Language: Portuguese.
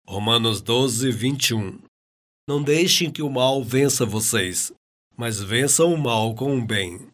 Romanos 12, 21. Não deixem que o mal vença vocês, mas vençam o mal com o bem.